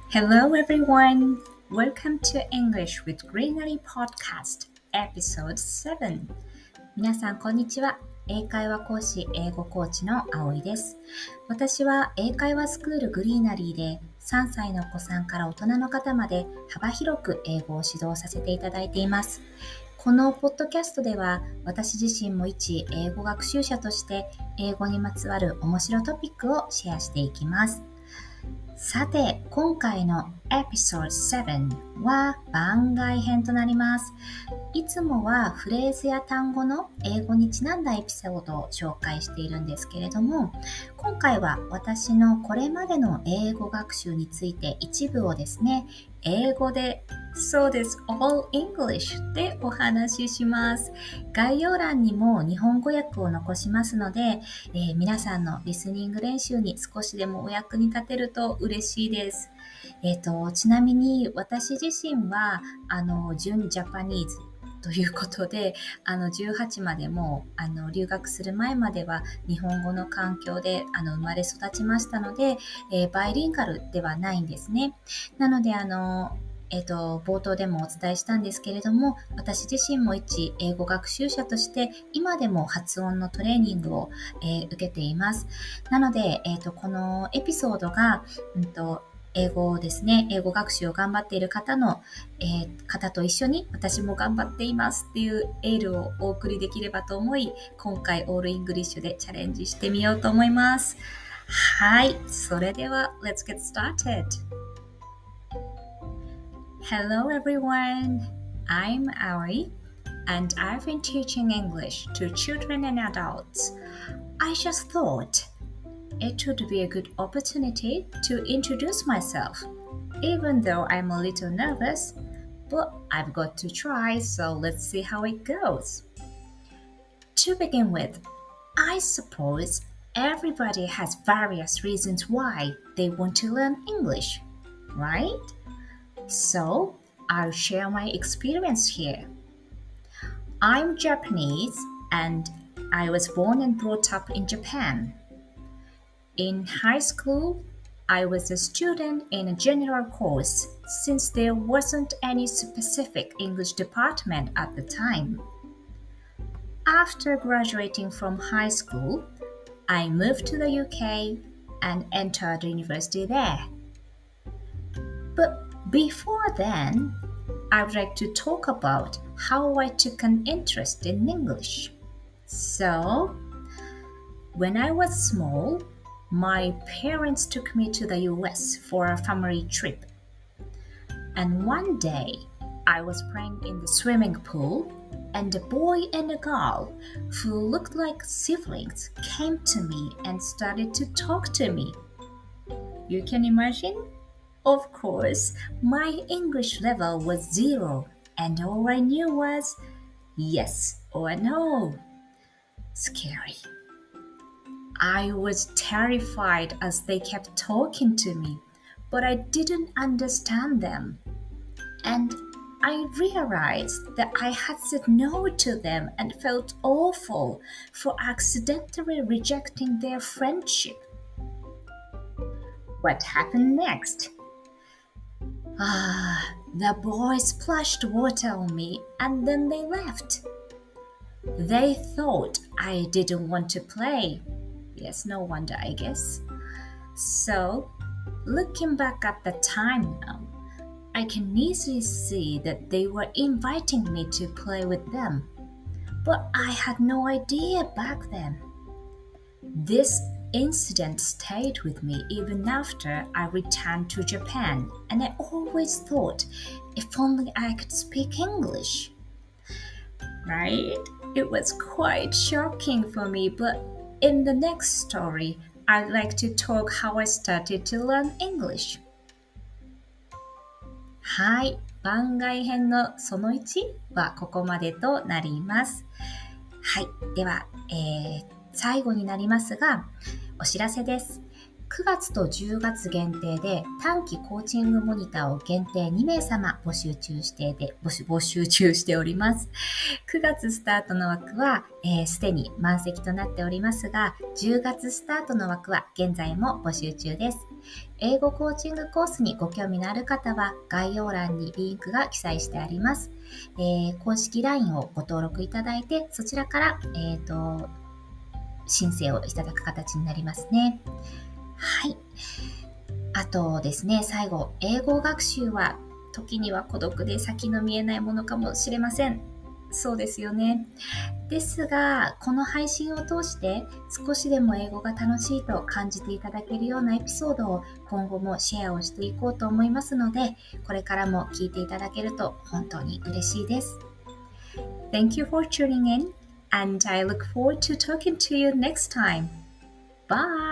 Hello everyone! Welcome to English with Greenery Podcast Episode 7. 皆さんこんにちは。英会話講師、英語コーチの葵です。私は英会話スクールグリーナリーで3歳のお子さんから大人の方まで幅広く英語を指導させていただいています。このポッドキャストでは私自身も一英語学習者として英語にまつわる面白トピックをシェアしていきます。さて、今回のエピソード7は番外編となります。いつもはフレーズや単語の英語にちなんだエピソードを紹介しているんですけれども、今回は私のこれまでの英語学習について一部をですね、英語でそうです、All English でお話しします。概要欄にも日本語訳を残しますので、皆さんのリスニング練習に少しでもお役に立てると嬉しいです。ちなみに私自身は純ジャパニーズということで、18までも留学する前までは日本語の環境で生まれ育ちましたので、バイリンガルではないんですね。なので冒頭でもお伝えしたんですけれども、私自身も一英語学習者として今でも発音のトレーニングを、受けています。なので、このエピソードが、英語ですね、英語学習を頑張っている方と一緒に私も頑張っていますっていうエールをお送りできればと思い、今回オールイングリッシュでチャレンジしてみようと思います。はい、それでは Let's get started!Hello everyone, I'm Aoi, and I've been teaching English to children and adults. I just thought it would be a good opportunity to introduce myself, even though I'm a little nervous, but I've got to try, so let's see how it goes. To begin with, I suppose everybody has various reasons why they want to learn English, right?So, I'll share my experience here. I'm Japanese and I was born and brought up in Japan. In high school, I was a student in a general course since there wasn't any specific English department at the time. After graduating from high school, I moved to the UK and entered university there.Before then, I would like to talk about how I took an interest in English. So, when I was small, my parents took me to the US for a family trip. And one day, I was playing in the swimming pool, and a boy and a girl who looked like siblings came to me and started to talk to me. You can imagine?Of course, my English level was 0, and all I knew was yes or no. Scary. I was terrified as they kept talking to me, but I didn't understand them. And I realized that I had said no to them and felt awful for accidentally rejecting their friendship. What happened next?The boys splashed water on me and then they left. They thought I didn't want to play. Yes, no wonder, I guess. So, looking back at the time now, I can easily see that they were inviting me to play with them. But I had no idea back then. This incident stayed with me even after I returned to Japan, and I always thought, if only I could speak English. Right? It was quite shocking for me, but in the next story, I'd like to talk how I started to learn English. はい、番外編のその1はここまでとなります。はい、では、最後になりますが、お知らせです。 9月と10月限定で短期コーチングモニターを限定2名様募集中しております。9月スタートの枠はすでに満席となっておりますが、10月スタートの枠は現在も募集中です。英語コーチングコースにご興味のある方は概要欄にリンクが記載してあります。公式 LINE をご登録いただいて、そちらから、申請をいただく形になりますね。はい。あとですね、最後、英語学習は時には孤独で先の見えないものかもしれません。そうですよね。ですが、この配信を通して少しでも英語が楽しいと感じていただけるようなエピソードを今後もシェアをしていこうと思いますので、これからも聞いていただけると本当に嬉しいです。Thank you for tuning in, and I look forward to talking to you next time. Bye!